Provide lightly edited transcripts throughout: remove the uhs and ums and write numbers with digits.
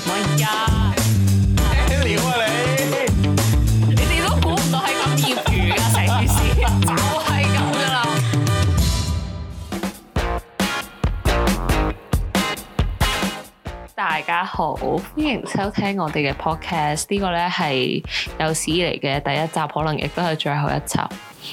喂呀！ 咩料啊你？ 你哋都估唔到係咁業餘㗎，成件事就係咁㗎啦。大家好，歡迎收聽我哋嘅 podcast。呢個咧係有史以嚟嘅第一集，可能亦都係最後一集。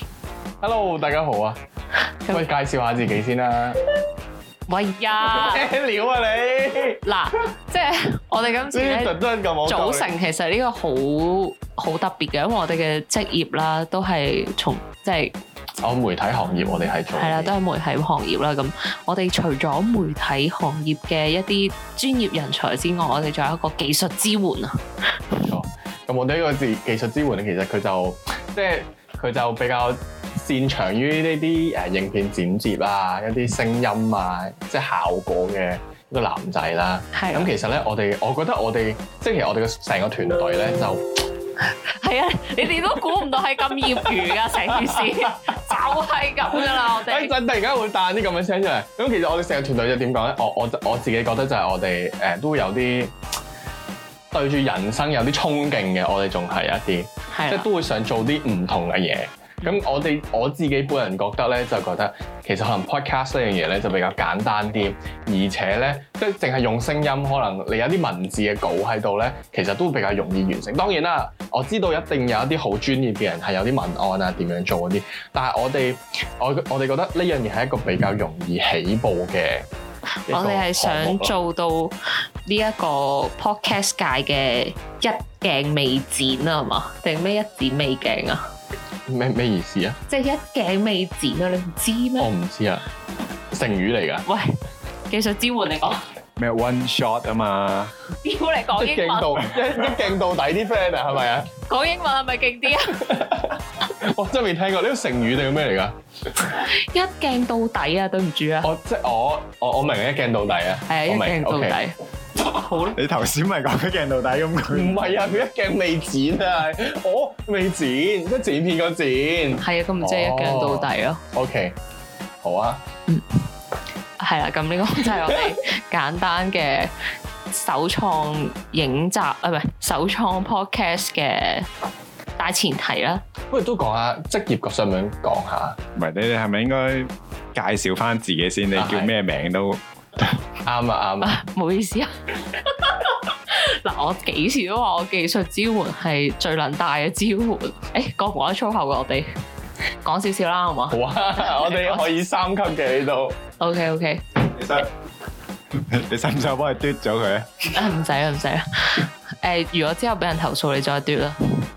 Hello， 大家好啊！喂，介紹下自己先啦。 喂呀！ 咩料啊你？ 嗱，即係我哋今次咧組成，其實呢個好特別嘅，因為我哋嘅職業啦，都係從即係媒體行業，我哋係做係啦，都係媒體行業啦。咁我哋除咗媒體行業嘅一啲專業人才之外，我哋仲有一個技術支援啊。 冇錯。咁我哋呢個技術支援咧，其實佢就比較擅長於呢啲影片剪接啊，一啲聲音啊，即係效果嘅一個男仔啦。係。咁其實咧，我覺得我哋即係其實我哋嘅成個團隊咧就係啊，你哋都估唔到係咁業餘㗎，成件事就係咁㗎啦。我哋突然間會彈啲咁嘅聲出嚟。咁其實我哋成個團隊就點講咧？我自己覺得就係我哋都會有啲對住人生有啲衝勁嘅，我哋仲係一啲，即係都會想做啲唔同嘅嘢。咁我自己本人覺得咧，就覺得其實可能 podcast 呢樣嘢咧就比較簡單啲，而且咧即係淨係用聲音，可能你有啲文字嘅稿喺度咧，其實都比較容易完成。當然啦，我知道一定有一啲好專業嘅人係有啲文案啊點樣做嗰啲，但係我哋覺得呢樣嘢係一個比較容易起步嘅。 我哋係想做到呢一個 podcast 界嘅一鏡未剪啊，係嘛？定咩一剪未鏡啊？ 咩意思啊？ 即係一鏡未剪啊！你唔知咩？ 我唔知啊，成語嚟㗎。 喂，技術支援嚟講咩 one shot 啊嘛？ 屌你講英文， 一鏡到底啲 friend 啊，係咪啊？ 講英文係咪勁啲啊？ 我真係未聽過呢個成語定咩嚟㗎？ 一鏡到底啊！對唔住啊！ 即係我明一鏡到底啊！ 係一鏡到底。好啦， 你頭先咪講一鏡到底咁佢？ 唔係啊，佢一鏡未剪啊，未剪，即係剪片個剪。 係啊，咁唔即係一鏡到底咯。 OK， 好啊。 係啦，咁呢個就係我哋簡單嘅首創影集啊，唔係首創 podcast 嘅大前提啦。 不如都講下職業，想唔想講下？ 唔係，你哋係咪應該介紹翻自己先？你叫咩名都啱啊！ 唔好意思啊。嗱，我幾時都話我技術支援係最能大嘅支援。講唔講得粗口㗎？我哋講少少啦，好嘛？ 好啊，我哋可以3級嘅呢度。 OK。 你使唔使我幫你嘟咗佢啊？ 唔使啦。如果之後俾人投訴，你再嘟啦。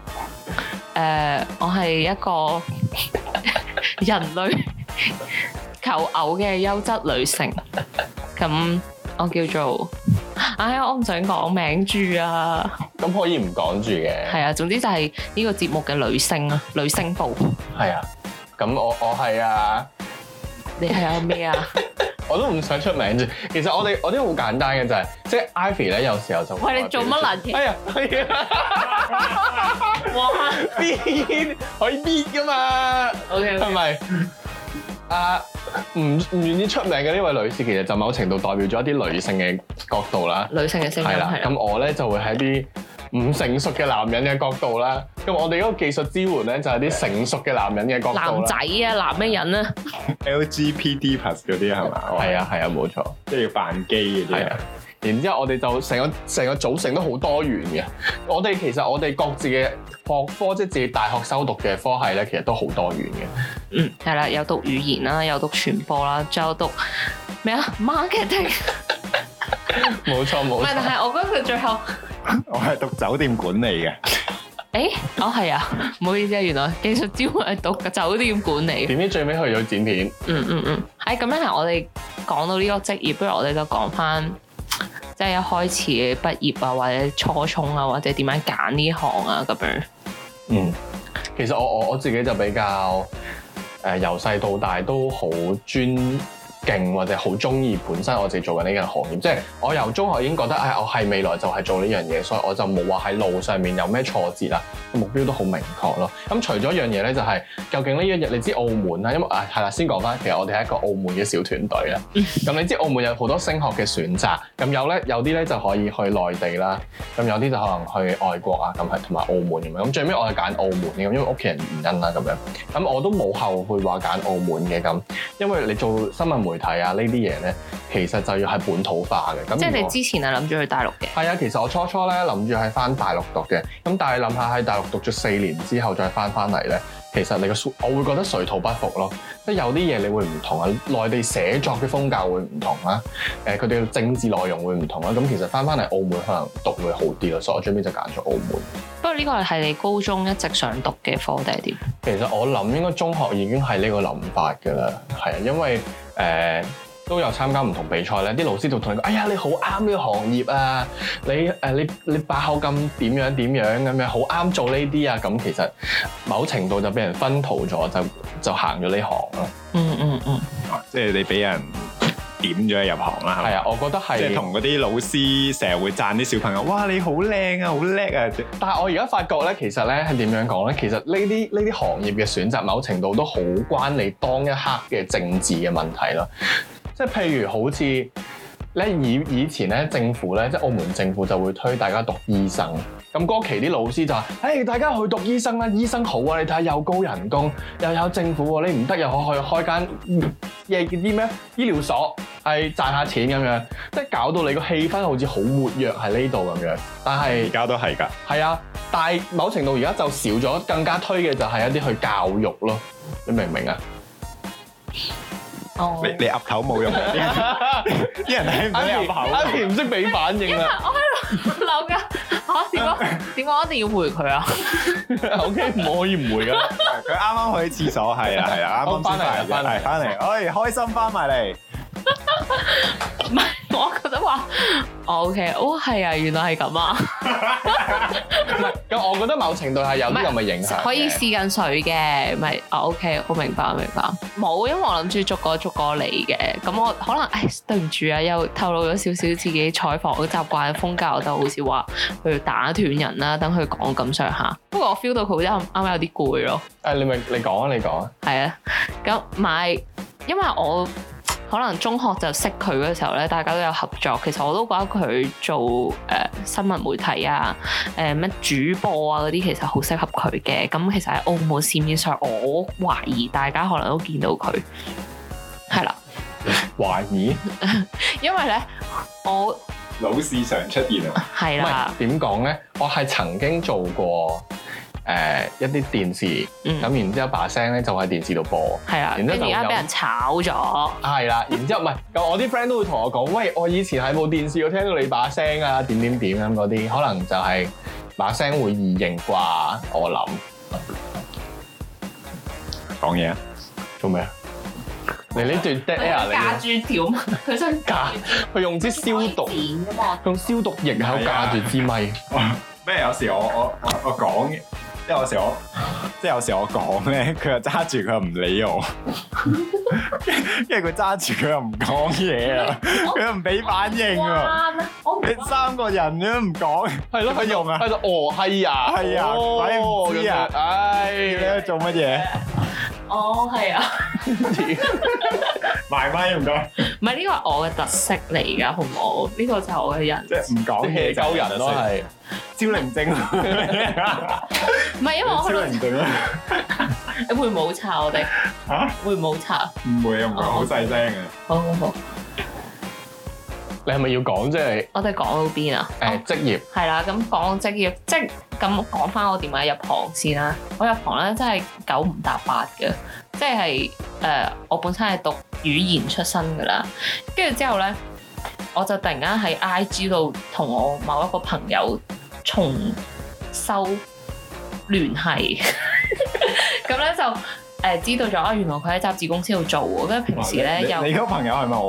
我係一個人類求偶嘅優質女性。咁我叫做，我唔想講名住啊。 咁可以唔講住嘅。 係啊，總之就係呢個節目嘅女星啊，女星部。係啊，咁我係啊。 你係有咩啊？ 我都唔想出名啫。其實我哋好簡單嘅就係，即係 Ivy 咧，有時候就喂，你做乜撚嘢？ 係啊。哇！邊可以邊㗎嘛 ？OK， 係咪？唔願意出名嘅呢位女士，其實就某程度代表咗一啲女性嘅角度啦。 女性嘅聲音係啦。 咁我咧就會喺啲唔成熟嘅男人嘅角度啦。咁我哋嗰個技術支援咧就係啲成熟嘅男人嘅角度啦。 男仔啊，男咩人啊 LGBT+ 嗰啲係嘛？ 係啊，冇錯， 即係要扮基嗰啲啊。 然之後我哋就成個組成都好多元嘅。其實我哋各自嘅學科，即係自己大學修讀嘅科系咧，其實都好多元嘅。 係啦，有讀語言啦，有讀傳播啦，仲有讀咩啊 marketing。 冇錯。唔係， 但係我覺得佢最後我係讀酒店管理嘅。 係啊，唔好意思啊，原來技術支援係讀酒店管理。 點知最尾去咗剪片。 咁樣係我哋講到呢個職業，不如我哋就講翻，即係一開始嘅畢業啊，或者初衷啊，或者點樣揀呢行啊咁樣。 其實我自己就比較由細到大都好專勁或者好中意本身我自己做緊呢樣行業，即係我由中學已經覺得我係未來就係做呢樣嘢，所以我就冇話喺路上面有咩挫折啦，目標都好明確咯。咁除咗一樣嘢咧，就係究竟呢一日你知澳門啦，因為係啦，先講翻，其實我哋係一個澳門嘅小團隊啦。咁你知澳門有好多升學嘅選擇，咁有啲咧就可以去內地啦，咁有啲就可能去外國啊，咁係同埋澳門咁樣。咁最尾我係揀澳門嘅，因為屋企人原因啦咁樣。咁我都冇後悔話揀澳門嘅咁，因為你做新聞媒體啊呢啲嘢咧，其實就要係本土化嘅。咁即係你之前係諗住去大陸嘅？ 係啊，其實我初初咧諗住係翻大陸讀嘅，咁但係諗下喺大陸讀咗4年之後再翻嚟咧，其實我會覺得水土不服咯。即係有啲嘢你會唔同啊，內地寫作嘅風格會唔同啦，佢哋嘅政治內容會唔同啦。咁其實翻嚟澳門可能讀會好啲咯，所以我最尾就揀咗澳門。 不過呢個係你高中一直想讀嘅科定係點？ 其實我諗應該中學已經係呢個諗法㗎啦，係啊，因為都有參加唔同比賽咧，啲老師就同你講：哎呀，你好啱呢個行業啊！你把口咁點樣咁樣，好啱做呢啲啊！咁其實某程度就俾人薰陶咗，就行咗呢行咯。 即係你俾人點咗入行啦。 係啊，我覺得係。 即係同嗰啲老師成日會讚啲小朋友，哇！你好靚啊，好叻啊！ 但係我而家發覺咧，其實咧係點樣講咧？其實呢啲行業嘅選擇，某程度都好關你當一刻嘅政治嘅問題咯。即係譬如好似咧以前咧政府咧，即係澳門政府就會推大家讀醫生。咁嗰期啲老師就話：大家去讀醫生啦，醫生好啊！你睇下又高人工，又有政府喎，你唔得又可以開間啲咩醫療所，係賺下錢咁樣，即係搞到你個氣氛好似好活躍喺呢度咁樣。但係而家都係㗎。係啊，但係某程度而家就少咗，更加推嘅就係一啲去教育咯。你明唔明啊？ 哦， 你岌頭冇用嘅，啲人睇唔到你岌頭。 阿田唔識俾反應啊！ 我喺度諗緊點解我一定要回佢啊 ？OK，唔可以唔回㗎。 佢啱啱去廁所，係啊，啱啱翻嚟，開心翻埋嚟。 唔係，我覺得話，OK，係啊，原來係咁啊。 唔係，咁我覺得某程度係有啲咁嘅影響。 可以試緊水嘅，咪OK，我明白。冇，因為我諗住逐個嚟嘅。咁我可能對唔住啊，又透露咗少少自己採訪嘅習慣風格，我就好似話去打斷人啦，等佢講咁上下。不過我 feel 到佢好似啱有啲攰咯。 你講啊。係啊， 咁因為我可能中學就識佢嘅時候咧，大家都有合作。其實我都覺得佢做新聞媒體啊，咩主播啊嗰啲，其實好適合佢嘅。咁其實喺澳門市面上，我懷疑大家可能都見到佢，係啦。 懷疑？ 因為咧，我老是常出現啊。 係啦。 點講咧？我係曾經做過。一啲電視，咁然之後把聲咧就喺電視度播，係啦，然之後就而家俾人炒咗，係啦，然之後唔係，咁我啲 friend 都會同我講，喂，我以前喺部電視度聽到你把聲啊，點咁嗰啲，可能就係把聲會異形啩，我諗。講嘢啊？做咩啊？你呢段 dead air 嚟嘅。架住條，佢想架，佢用支消毒，用消毒液喺度架住支咪。 咩？有時我講嘅。即係有時我講咧，佢又揸住佢又唔理我，因為佢揸住佢又唔講嘢啊，佢又唔俾反應啊，你3個人都唔講，係咯，佢用啊，喺度係啊，鬼唔知啊，你喺度做乜嘢？ 係啊， 埋咪唔該， 唔係呢個係我嘅特色嚟㗎，好唔好？呢個就係我嘅人， 即係唔講嘢鳩人咯，係超靈症， 唔係因為我超靈症啊！ 你會唔會好吵我哋？嚇？會唔會好吵？ 唔會啊，唔會，好細聲嘅。 好。 你係咪要講即係？ 我哋講到邊啊？ 職業係啦，咁講職業，即係咁講翻我點解入行先啦。我入行咧真係9唔搭8嘅，即係我本身係讀語言出身㗎啦，跟住之後咧，我就突然間喺 IG 度同我某一個朋友重修聯繫，咁咧就知道咗原來佢喺雜誌公司度做喎，跟住平時咧又你嗰個朋友係咪我啊？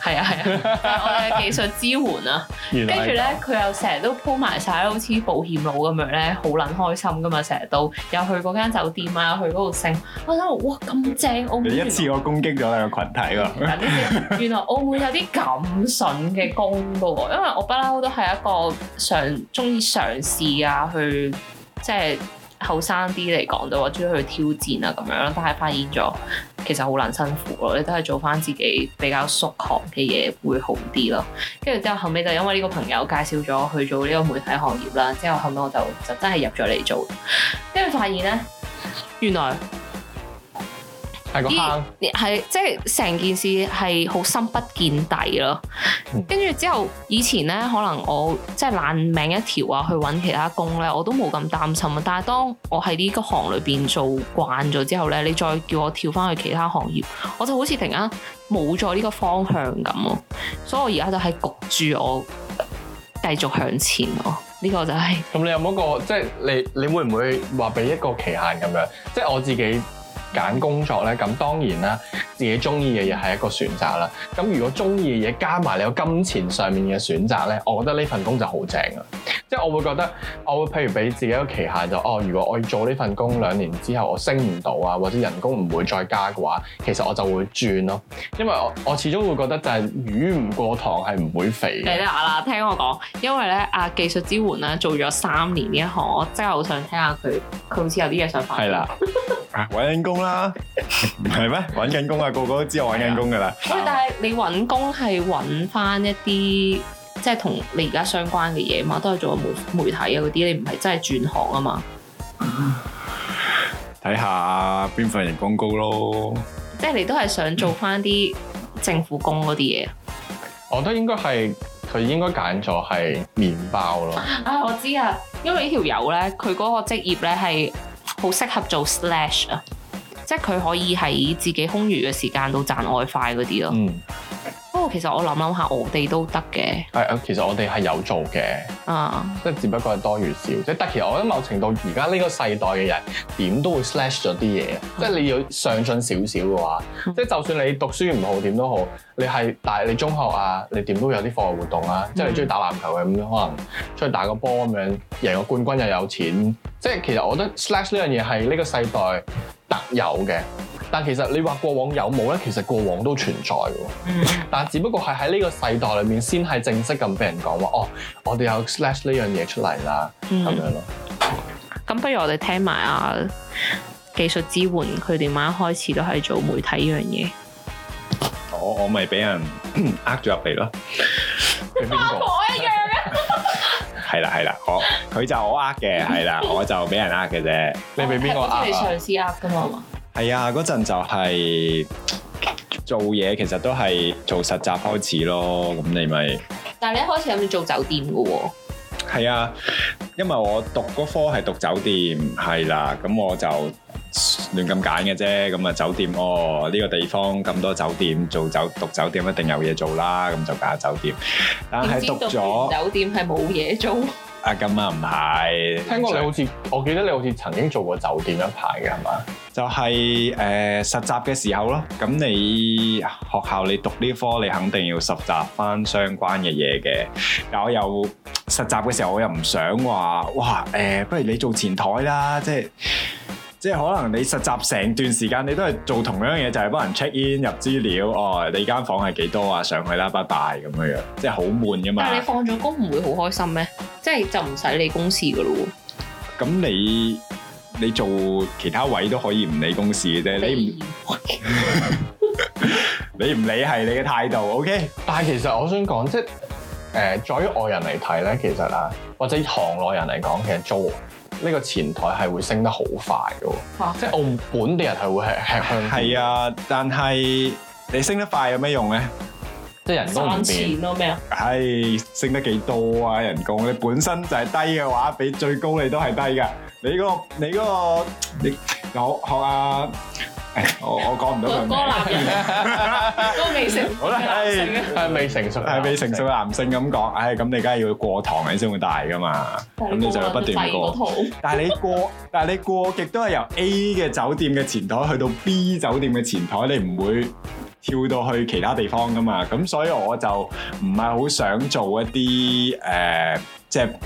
係啊，就係我哋嘅技術支援啊。跟住咧，佢又成日都鋪埋晒，好似保險佬咁樣咧，好撚開心噶嘛！成日都有去嗰間酒店啊，又去嗰度升。我諗哇咁正澳門！ 你一次我攻擊咗你個群體喎。 原來澳門有啲咁筍嘅工噶喎，因為我不嬲都係一個中意嘗試啊，去即係後生啲嚟講就話中意去挑戰啊咁樣，但係發現咗其實好撚辛苦咯，你都係做翻自己比較熟行嘅嘢會好啲咯。跟住之後後尾就因為呢個朋友介紹咗去做呢個媒體行業啦，之後後尾我就真係入咗嚟做，跟住發現咧原來。 係個坑， 係即係成件事係好深不見底咯。跟住之後，以前咧可能我即係爛命一條啊，去揾其他工咧，我都冇咁擔心啊。但係當我喺呢個行裏邊做慣咗之後咧，你再叫我跳翻去其他行業，我就好似突然間冇咗呢個方向咁咯。所以我而家就係焗住我繼續向前咯。呢個就係。 咁你有冇一個即係你會唔會話俾一個期限咁樣？即係我自己。揀工作咧，咁當然啦，自己中意嘅嘢係一個選擇啦。咁如果中意嘅嘢加埋你有金錢上面嘅選擇咧，我覺得呢份工就好正啊！即係我會覺得，我會譬如俾自己一個期限就，如果我要做呢份工2年之後我升唔到啊，或者人工唔會再加嘅話，其實我就會轉咯。因為我始終會覺得就係魚唔過塘係唔會肥嘅。 你啦，聽我講，因為咧技術支援咧做咗3年呢一行，我真係好想聽下佢好似有啲嘢想發。 係啦。 揾緊工啦，唔係咩？揾緊工啊，個個都知我揾緊工噶啦。 喂，但係你揾工係揾翻一啲即係同你而家相關嘅嘢嘛？都係做媒體啊嗰啲，你唔係真係轉行啊嘛？ 睇下邊份人工高咯。 即係你都係想做翻啲政府工嗰啲嘢？ 我覺得應該係佢應該揀咗係麵包咯。 我知啊，因為呢條友咧，佢嗰個職業咧係。好適合做 slash 啊，即係佢可以喺自己空餘嘅時間度賺外快嗰啲咯。不過其實我諗下，我哋都得嘅。 其實我哋係有做嘅，即係只不過係多與少。即係其實我覺得某程度而家呢個世代嘅人點都會 slash 咗啲嘢，即係你要上進少少嘅話，即係就算你讀書唔好點都好，你中學啊，你點都有啲課外活動啊，即係你中意打籃球嘅咁樣，可能出去打個波咁樣，贏個冠軍又有錢。即係其實我覺得 slash 呢樣嘢係呢個世代特有嘅。但其實你話過往有冇咧？其實過往都存在嘅，但係只不過係喺呢個世代裏面先係正式咁俾人講話，我哋有 slash 呢樣嘢出嚟啦，咁樣咯。 咁不如我哋聽埋技術支援佢點樣一開始都係做媒體呢樣嘢。 我咪俾人呃咗入嚟咯。 俾邊個？ 我一樣啊！ 係啦，佢就我呃嘅，係啦，我就俾人呃嘅啫。 你俾邊個呃啊？ 你上司呃㗎嘛？ 係啊，嗰陣就係做嘢，其實都係做實習開始咯。咁你咪， 但係你一開始諗住做酒店㗎喎。 係啊，因為我讀嗰科係讀酒店，係啦，咁我就亂咁揀嘅啫。咁啊酒店呢個地方咁多酒店，讀酒店一定有嘢做啦，咁就揀酒店。但係讀咗酒店係冇嘢做。 咁啊唔係， 聽過你好似，我記得你好似曾經做過酒店一排嘅係嘛？ 就係實習嘅時候咯。咁你學校你讀呢科，你肯定要實習翻相關嘅嘢嘅。但我又實習嘅時候，我又唔想話，哇不如你做前台啦，即係可能你實習成段時間，你都係做同樣嘢，就係幫人 check in 入資料，你間房係幾多啊？上去啦，拜拜咁樣，即係好悶噶嘛。 但係你放咗工唔會好開心咩？即係就唔使理公事噶咯喎。 咁你做其他位都可以唔理公事嘅啫，你唔理係你嘅態度 ，OK？ 但係其實我想講，即係在於外人嚟睇咧，其實啊，或者行內人嚟講，其實做呢個前台係會升得好快嘅，即係澳門本地人係會吃香。係啊，但係你升得快有咩用咧？ 即係人工唔變。賺錢咯咩啊？ 係升得幾多啊？人工你本身就係低嘅話，比最高你都係低㗎。你學啊！我講唔到佢名。 都未成。 好啦， 係未成熟， 係未成熟嘅男性咁講。咁你梗係要過堂你先會大㗎嘛。咁你就要不斷過。但係你過極都係由 A 嘅酒店嘅前台去到 B 酒店嘅前台，你唔會跳到去其他地方噶嘛，咁所以我就唔係好想做一啲即係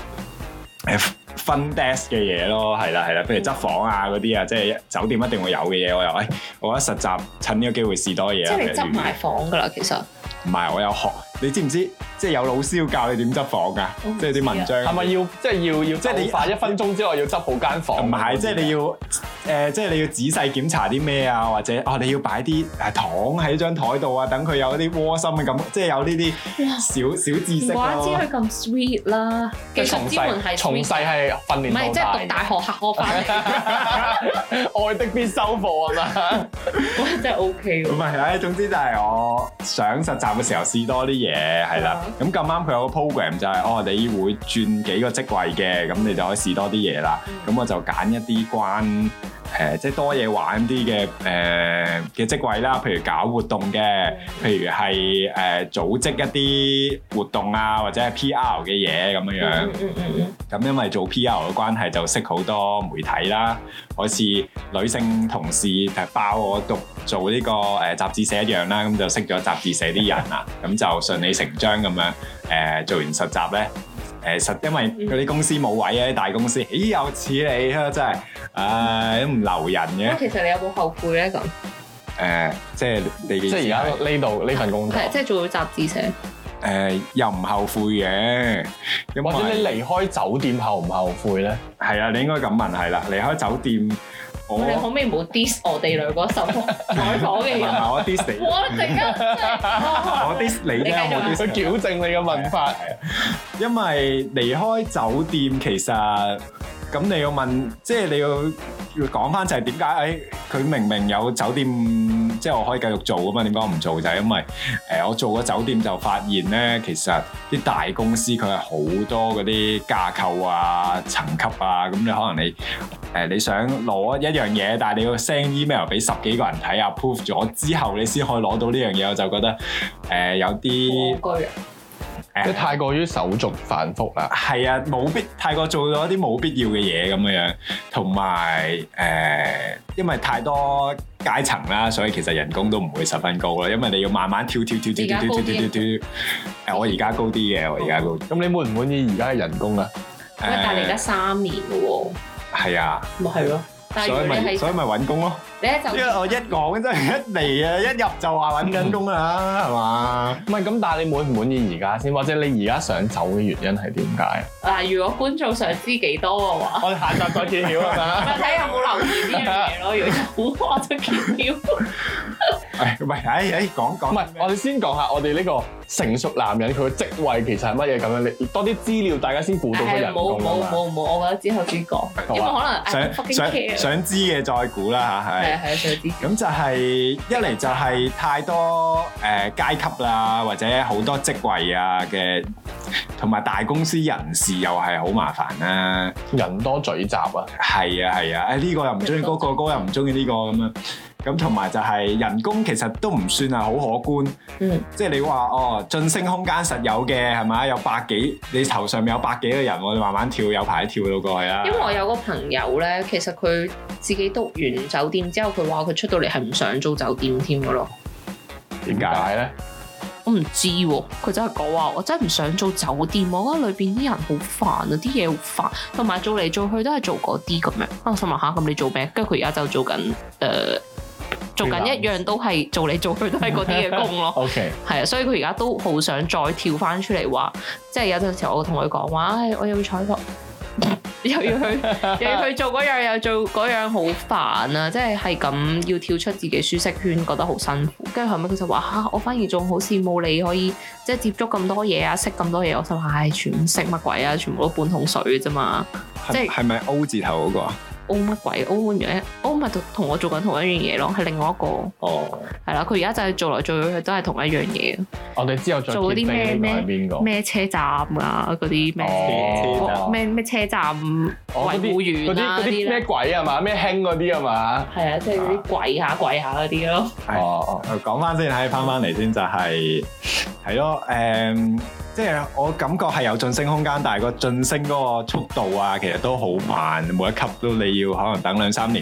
front desk 嘅嘢咯，係啦，譬如執房啊嗰啲啊，即係酒店一定會有嘅嘢，我覺得實習趁呢個機會試多嘢。 即係你執埋房噶啦，其實。 唔係，我有學，你知唔知？即係有老師要教你點執房㗎，即係啲文章。係咪要即係你快1分鐘之內要執好間房？唔係，即係你要即係你要仔細檢查啲咩啊，或者你要擺啲糖喺張台度啊，等佢有啲窩心嘅感覺，即係有呢啲小知識咯。唔怪之佢咁 sweet 啦，技術支援係從細係訓練到大。唔係，即係讀大學考翻嚟。愛的必修課啊嘛，真係 OK 喎。唔係，總之就係我想實習嘅時候試多啲嘢，係啦。咁咁啱佢有個 program 就係你會轉幾個職位嘅，咁你就可以試多啲嘢啦。咁我就揀一啲關即係多嘢玩啲嘅職位啦，譬如搞活動嘅，譬如係組織一啲活動啊，或者係 PR 嘅嘢咁樣樣。咁因為做 PR 嘅關係就識好多媒體啦，好似女性同事包我做呢個雜誌社一樣啦，咁就識咗雜誌社啲人啦，咁就順理成章咁樣做完實習咧。因為嗰啲公司冇位啊，啲大公司，咦有似你啊，真係，都唔留人嘅。其實你有冇後悔咧咁？即係你即係而家呢度呢份工作，即係做咗雜誌社。又唔後悔嘅，或者你離開酒店後唔後悔咧？係啊，你應該咁問係啦，離開酒店。你可唔可以唔好 diss 我哋兩個受採訪嘅人？我 diss 你，我突然間我 diss 你啫，我 diss 佢矯正你嘅問法。因為離開酒店其實咁你要問，即係你要講翻就係點解佢明明有酒店，即係我可以繼續做㗎嘛？點解我唔做？就係因為我做個酒店就發現咧，其實啲大公司佢係好多嗰啲架構啊、層級啊，咁你可能你想攞一樣嘢，但係你要 send email 俾10幾個人睇 approve 咗之後，你先可以攞到呢樣嘢，我就覺得有啲即係太過於手續繁複啦。係啊，太過做咗啲冇必要嘅嘢咁樣，同埋因為太多階層啦，所以其實人工都唔會十分高啦，因為你要慢慢跳。我而家高啲嘅，我而家高啲。咁你滿唔滿意而家嘅人工啊？但係你而家3年嘅喎。係啊。咪係咯。所以咪揾工咯。因為我一講真係一嚟啊，一入就話揾緊工啦，係嘛？唔係咁，但係你滿唔滿意而家先？或者你而家想走嘅原因係點解？嗱，如果觀眾想知幾多嘅話，我哋下集再揭曉啊嘛。睇有冇留意呢樣嘢咯，如果有，我就揭曉。唔係，講。唔係，我哋先講下我哋呢個成熟男人佢嘅職位其實係乜嘢咁樣？你多啲資料，大家先估到佢人工啊嘛。冇，我覺得之後先講，因為可能想知嘅再估啦嚇，係。係想知。咁就係一嚟就係太多階級啦，或者好多職位啊嘅，同埋大公司人事又係好麻煩啦，人多嘴雜啊。係啊，呢個又唔中意嗰個，嗰個又唔中意呢個咁樣。咁同埋就係人工其實都唔算係好可觀，即係你話晉升空間實有嘅係咪？有100幾，你頭上面有100幾個人，我哋慢慢跳，有排跳到過去啦。因為我有個朋友咧，其實佢自己讀完酒店之後，佢話佢出到嚟係唔想做酒店添㗎咯。點解咧？我唔知喎，佢真係講話我真係唔想做酒店，我覺得裏邊啲人好煩啊，啲嘢好煩，同埋做嚟做去都係做嗰啲咁樣。我心諗下，咁你做咩？跟住佢而家就做緊做緊一樣都係做嚟做去都係嗰啲嘅工咯。OK，係啊，所以佢而家都好想再跳翻出嚟話，即係有陣時我同佢講話，我又要採訪，又要去做嗰樣，又做嗰樣，好煩啊！即係咁要跳出自己舒適圈，覺得好辛苦。跟住後尾佢就話我反而仲好羨慕你可以即係接觸咁多嘢啊，識咁多嘢。我心諗全部識乜鬼啊？全部都半桶水啫嘛。即係咪 O 字頭嗰個啊？O 乜鬼 ？O 乜嘢 ？O 咪同我做緊同一樣嘢咯，係另外一個。哦，係啦，佢而家就係做來做去都係同一樣嘢。我哋之後再做嗰啲咩車站啊，嗰啲咩車站維護員啊嗰啲咩鬼啊嘛，咩興嗰啲啊嘛。係啊，即係嗰啲跪下嗰啲咯。哦，講翻先，睇翻嚟先就係咯，即係我感覺係有晉升空間，但係個晉升嗰個速度啊，其實都好慢，每一級都你要可能等2-3年先會跳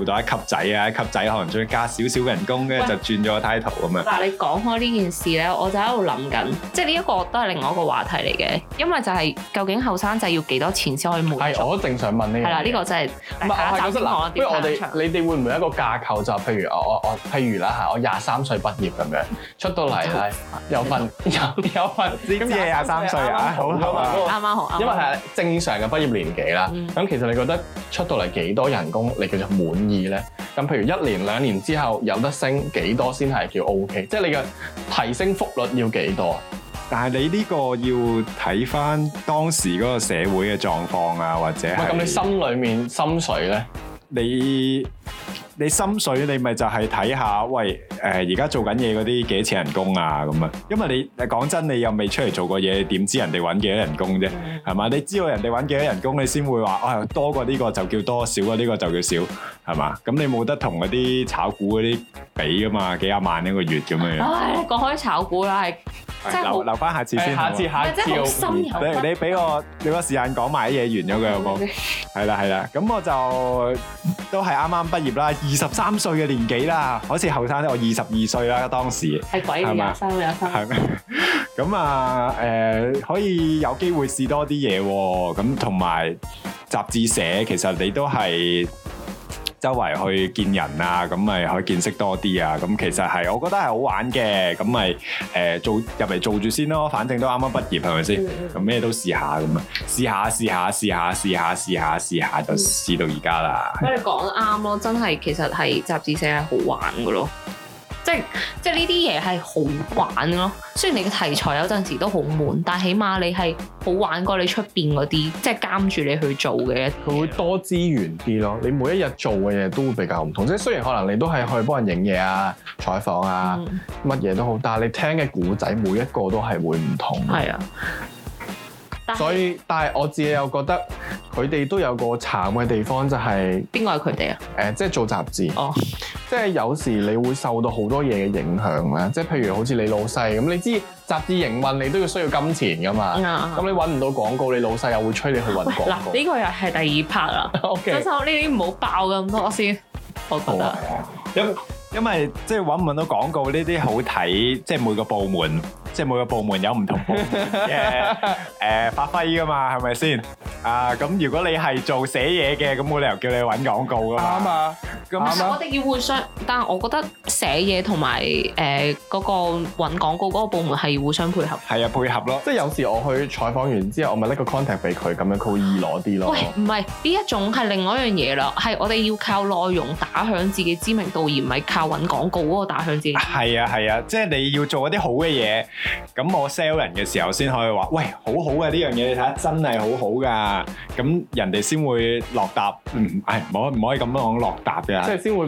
調到一級仔啊，一級仔可能再加少少人工，跟住就轉咗個 title 咁樣。 嗱，你講開呢件事咧，我就喺度諗緊，即係呢一個都係另外一個話題嚟嘅，因為就係究竟後生仔要幾多錢先可以滿足？ 係，我都正想問呢樣嘢。 係啦，呢個真係下一集先講。 不如你哋會唔會一個架構就譬如我譬如啦嚇，我23歲畢業咁樣出到嚟係有份知嘢23歲啊，好啊， 啱啱好， 因為係正常嘅畢業年紀啦。咁其實你覺得出到嚟幾多人工你叫做滿意咧？咁譬如1年2年之後有得升幾多先係叫 OK？即係你嘅提升幅率要幾多？ 但係你呢個要睇翻當時嗰個社會嘅狀況啊，或者係咁你心裡面心水咧？你心水你咪就係睇下，喂而家做緊嘢嗰啲幾多錢人工啊咁啊？因為你講真，你又未出嚟做過嘢，點知人哋揾幾多人工啫？係嘛？你知道人哋揾幾多人工，你先會話多過呢個就叫多，少過呢個就叫少，係嘛？咁你冇得同嗰啲炒股嗰啲比噶嘛？幾廿萬一個月咁樣。 唉，講開炒股啦，係即係留翻下次先。下次即係好深入。 你俾個時間講埋啲嘢完咗佢好冇？係啦，咁我就都係啱啱畢業啦，23歲嘅年紀啦，好似後生啲，我22歲啦當時。係鬼嘅23。係咩？咁啊可以有機會試多啲嘢喎，咁同埋雜誌社其實你都係周圍去見人啊，咁咪可以見識多啲啊，咁其實係我覺得係好玩嘅，咁咪做入嚟做住先咯，反正都啱啱畢業係咪先？咁咩都試下咁啊，試下就試到而家啦。 你講得啱咯，真係其實係雜誌社係好玩嘅咯。即係呢啲嘢係好玩咯，雖然你嘅題材有陣時都好悶，但係起碼你係好玩過你出邊嗰啲，即係監住你去做嘅。 佢會多資源啲咯，你每一日做嘅嘢都會比較唔同。即係雖然可能你都係去幫人影嘢啊、採訪啊，乜嘢都好，但係你聽嘅故仔每一個都係會唔同。 係啊。 但係我自己又覺得佢哋都有個慘嘅地方，就係邊個係佢哋啊？ 即係做雜誌。 哦。 即係有時你會受到好多嘢嘅影響啦。即係譬如好似你老細咁，你知雜誌營運你都要需要金錢㗎嘛。咁你揾唔到廣告，你老細又會催你去揾廣告。 嗱，呢個又係第二 part 啦。 OK。 呢啲唔好爆咁多先，我覺得。 因為即係揾唔揾到廣告呢啲好睇，即係每個部門有唔同部門嘅發揮㗎嘛，係咪先？咁如果你係做寫嘢嘅，咁冇理由叫你揾廣告㗎嘛。啱啊。 我哋要互相，但係我覺得寫嘢同埋嗰個揾廣告嗰個部門係互相配合。 係啊，配合咯。即係有時我去採訪完之後，我咪拎個 contact 俾佢，咁樣佢會易攞啲咯。 喂，唔係呢一種係另外一樣嘢啦，係我哋要靠內容打響自己知名度，而唔係靠揾廣告嗰個打響自己。 係啊，即係你要做一啲好嘅嘢，咁我 sell 人嘅時候先可以話，喂，好好嘅呢樣嘢，你睇下真係好好㗎，咁人哋先會落答。唔可以咁樣講落答嘅。即係先會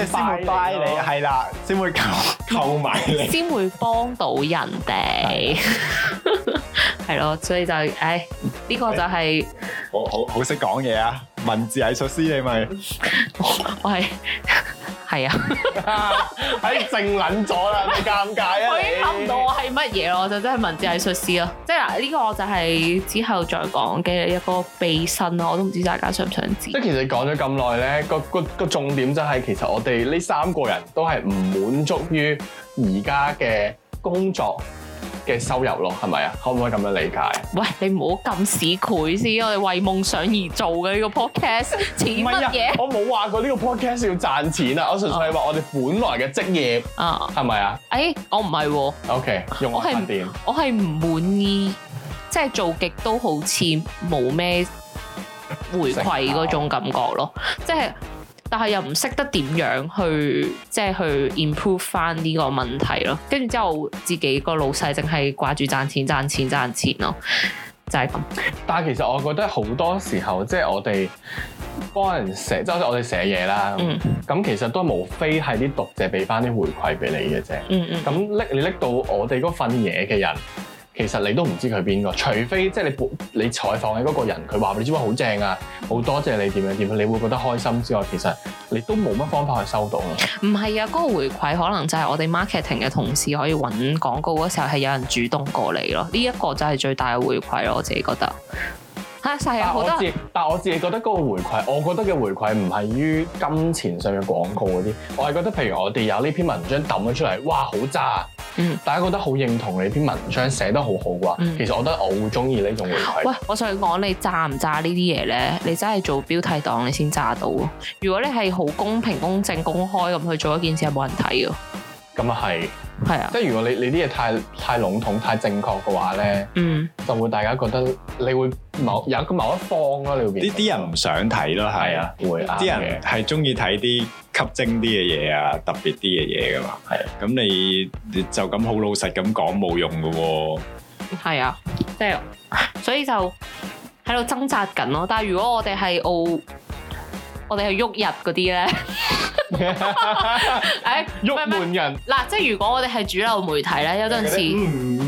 buy 你，係啦，先會購買你， 先會幫到人哋，係咯，所以就呢個就係好識講嘢啊！文字藝術師你咪， 我係啊， 靜撚咗啦，你尷尬啊！ 我已經諗唔到我係乜嘢咯，我就真係文字藝術師咯。即係嗱，呢個就係之後再講嘅一個秘辛咯，我都唔知大家想唔想知。 即係其實講咗咁耐咧，個重點就係其實我哋呢3個人都係唔滿足於而家嘅工作嘅收入咯，係咪啊？可唔可以咁樣理解？ 喂，你唔好咁市儈先，我哋為夢想而做嘅呢個 podcast， 錢乜嘢？ 我冇話過呢個 podcast 要賺錢啊，我純粹係話我哋本來嘅職業啊，係咪啊？ 我唔係喎。 OK， 用我發電。 我係唔滿意，即係做極都好似冇咩回饋嗰種感覺咯，即係。但係又唔識得點樣去即係去 improve 翻呢個問題咯，跟住之後自己個老細淨係掛住賺錢咯，就係咁。 但係其實我覺得好多時候即係我哋幫人寫，即係我哋寫嘢啦，咁其實都無非係啲讀者俾翻啲回饋俾你嘅啫。咁你拎到我哋嗰份嘢嘅人。其實你都唔知佢邊個，除非即係你採訪嘅嗰個人，佢話你知唔知好正啊，好多謝你點樣，你會覺得開心之外，其實你都冇乜方法去收到咯。唔係啊，嗰個回饋可能就係我哋 marketing 嘅同事可以揾廣告嗰時候係有人主動過嚟咯，呢一個就係最大嘅回饋咯，我自己覺得。 係啊，好多。 但我自己覺得嗰個回饋，我覺得嘅回饋唔係於金錢上嘅廣告嗰啲，我係覺得譬如我哋有呢篇文章抌咗出嚟，哇好渣，大家覺得好認同你篇文章寫得好好嘅話，其實我覺得我會中意呢種回饋。 喂，我想講你炸唔炸呢啲嘢咧？你真係做標題黨你先炸到。如果你係好公平、公正、公開咁去做一件事，係冇人睇嘅。 咁啊係。 係啊， 即係如果你啲嘢太籠統、太正確嘅話咧，就會大家覺得你會有某一方咯，你會變。啲人唔想睇咯，係啊， 會啲人係中意睇啲吸睛啲嘅嘢啊，特別啲嘅嘢噶嘛。係啊，咁你就咁好老實咁講冇用噶喎。係啊， 即係所以就喺度掙扎緊咯。但係如果我哋係我哋係喐日嗰啲咧。 鬱悶人嗱，即係如果我哋係主流媒體咧，有陣時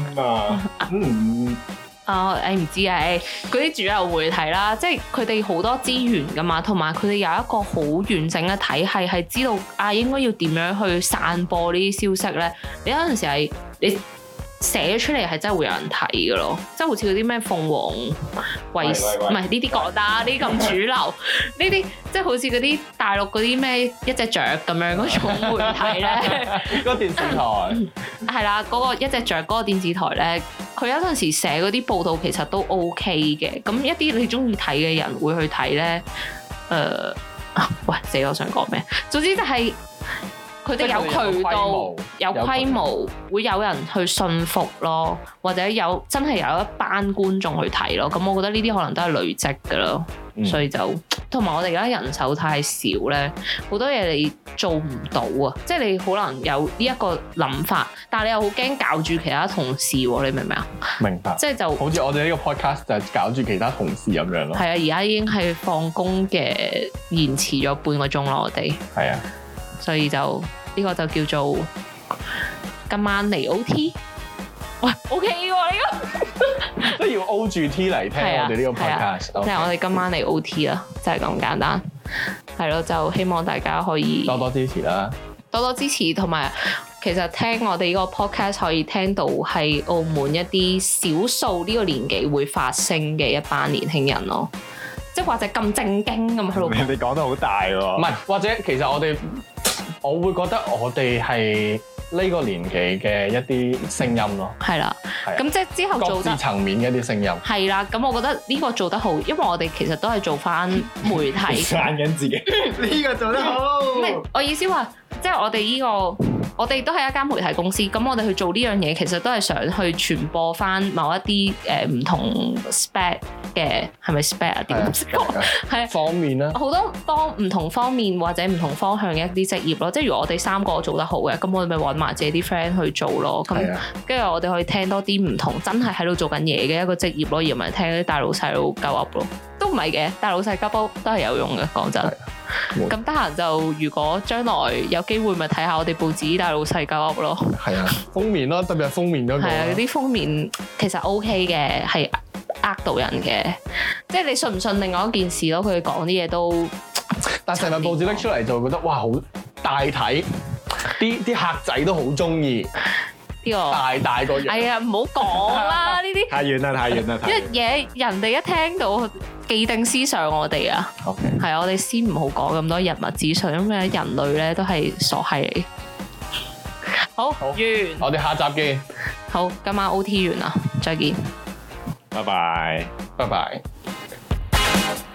唔知啊，嗰啲主流媒體啦，即係佢哋好多資源噶嘛，同埋佢哋有一個好完整嘅體系，係知道應該要點樣去散播呢啲消息咧。你有陣時係你寫出嚟係真係會有人睇嘅咯，即係好似嗰啲咩鳳凰衛視，唔係呢啲講得，呢啲咁主流，呢啲即係好似嗰啲大陸嗰啲咩一隻雀咁樣嗰種媒體咧， 嗰個電視台係啦，嗰個一隻雀嗰個電視台咧，佢有陣時寫嗰啲報道其實都 OK 嘅，咁一啲你中意睇嘅人會去睇咧，喂死我想講咩？總之就係。佢哋有渠道、有規模，會有人去信服咯，或者真係有一班觀眾去睇咯。咁我覺得呢啲可能都係累積㗎咯，所以就同埋我哋而家人手太少咧，好多嘢你做唔到啊！即係你可能有呢一個諗法，但係你又好驚搞住其他同事喎，你明唔明啊？ 明白。即係就好似我哋呢個 podcast 就係搞住其他同事咁樣咯。係啊， 而家已經係放工嘅延遲咗半個鐘咯，我哋。係啊。所以就呢個就叫做今晚嚟 OT， 喂 OK 喎呢個， 都要 O 住 T 嚟聽我哋呢個 podcast， 即係我哋今晚嚟 OT 啦，就係咁簡單，係咯，就希望大家可以多多支持啦， 多多支持，同埋其實聽我哋呢個 podcast 可以聽到係澳門一啲少數呢個年紀會發聲嘅一班年輕人咯，即係或者咁正經咁去到， 你講得好大喎， 唔係或者其實我會覺得我哋係呢個年紀嘅一啲聲音咯， 係啦，咁即係之後做得各自層面嘅一啲聲音， 係啦，咁我覺得呢個做得好，因為我哋其實都係做翻媒體， 讚緊自己，呢個做得好， 唔係我意思話，即係我哋呢個。我哋都係一間媒體公司，咁我哋去做呢樣嘢，其實都係想去傳播翻某一啲唔同 spec 嘅，係咪 spec 啊？點講？係方面啦， 好多唔同方面或者唔同方向嘅一啲職業咯。即係如果我哋三個做得好嘅，咁我哋咪揾埋自己啲 friend 去做咯。咁跟住我哋可以聽多啲唔同真係喺度做緊嘢嘅一個職業咯，而唔係聽啲大佬細佬鳩噏咯。都唔係嘅，大佬細鳩煲都係有用嘅，講真。咁得閒就如果將來有機會咪睇下我哋報紙大老細鳩噏咯。係啊， 封面咯，特別係封面嗰個。 係啊，啲封面其實 OK 嘅，係呃到人嘅。即係你信唔信另外一件事咯？佢哋講啲嘢都， 但成份報紙拎出嚟就覺得哇好大體，啲客仔都好中意。呢個大個樣。係啊，唔好講啦，呢啲太遠啦，太遠啦。 一嘢人哋一聽到既定思想我哋啊，係我哋先唔好講咁多人物資訊，因為人類咧都係傻閪嚟。好，完， 我哋下集見。 好，今晚 OT 完啦，再見。 拜拜， 拜拜。